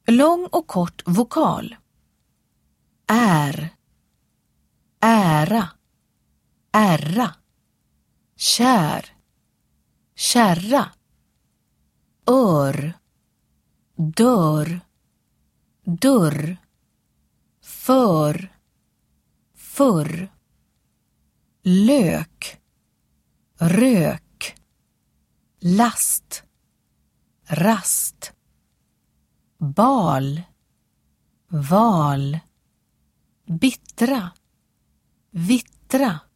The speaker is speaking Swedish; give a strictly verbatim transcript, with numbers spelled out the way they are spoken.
Lång och kort vokal. Är, ära, ära, kär, kärra, ör, dörr, dörr, för, förr, lök, rök, last, rast, bal, val, bittra, vittra,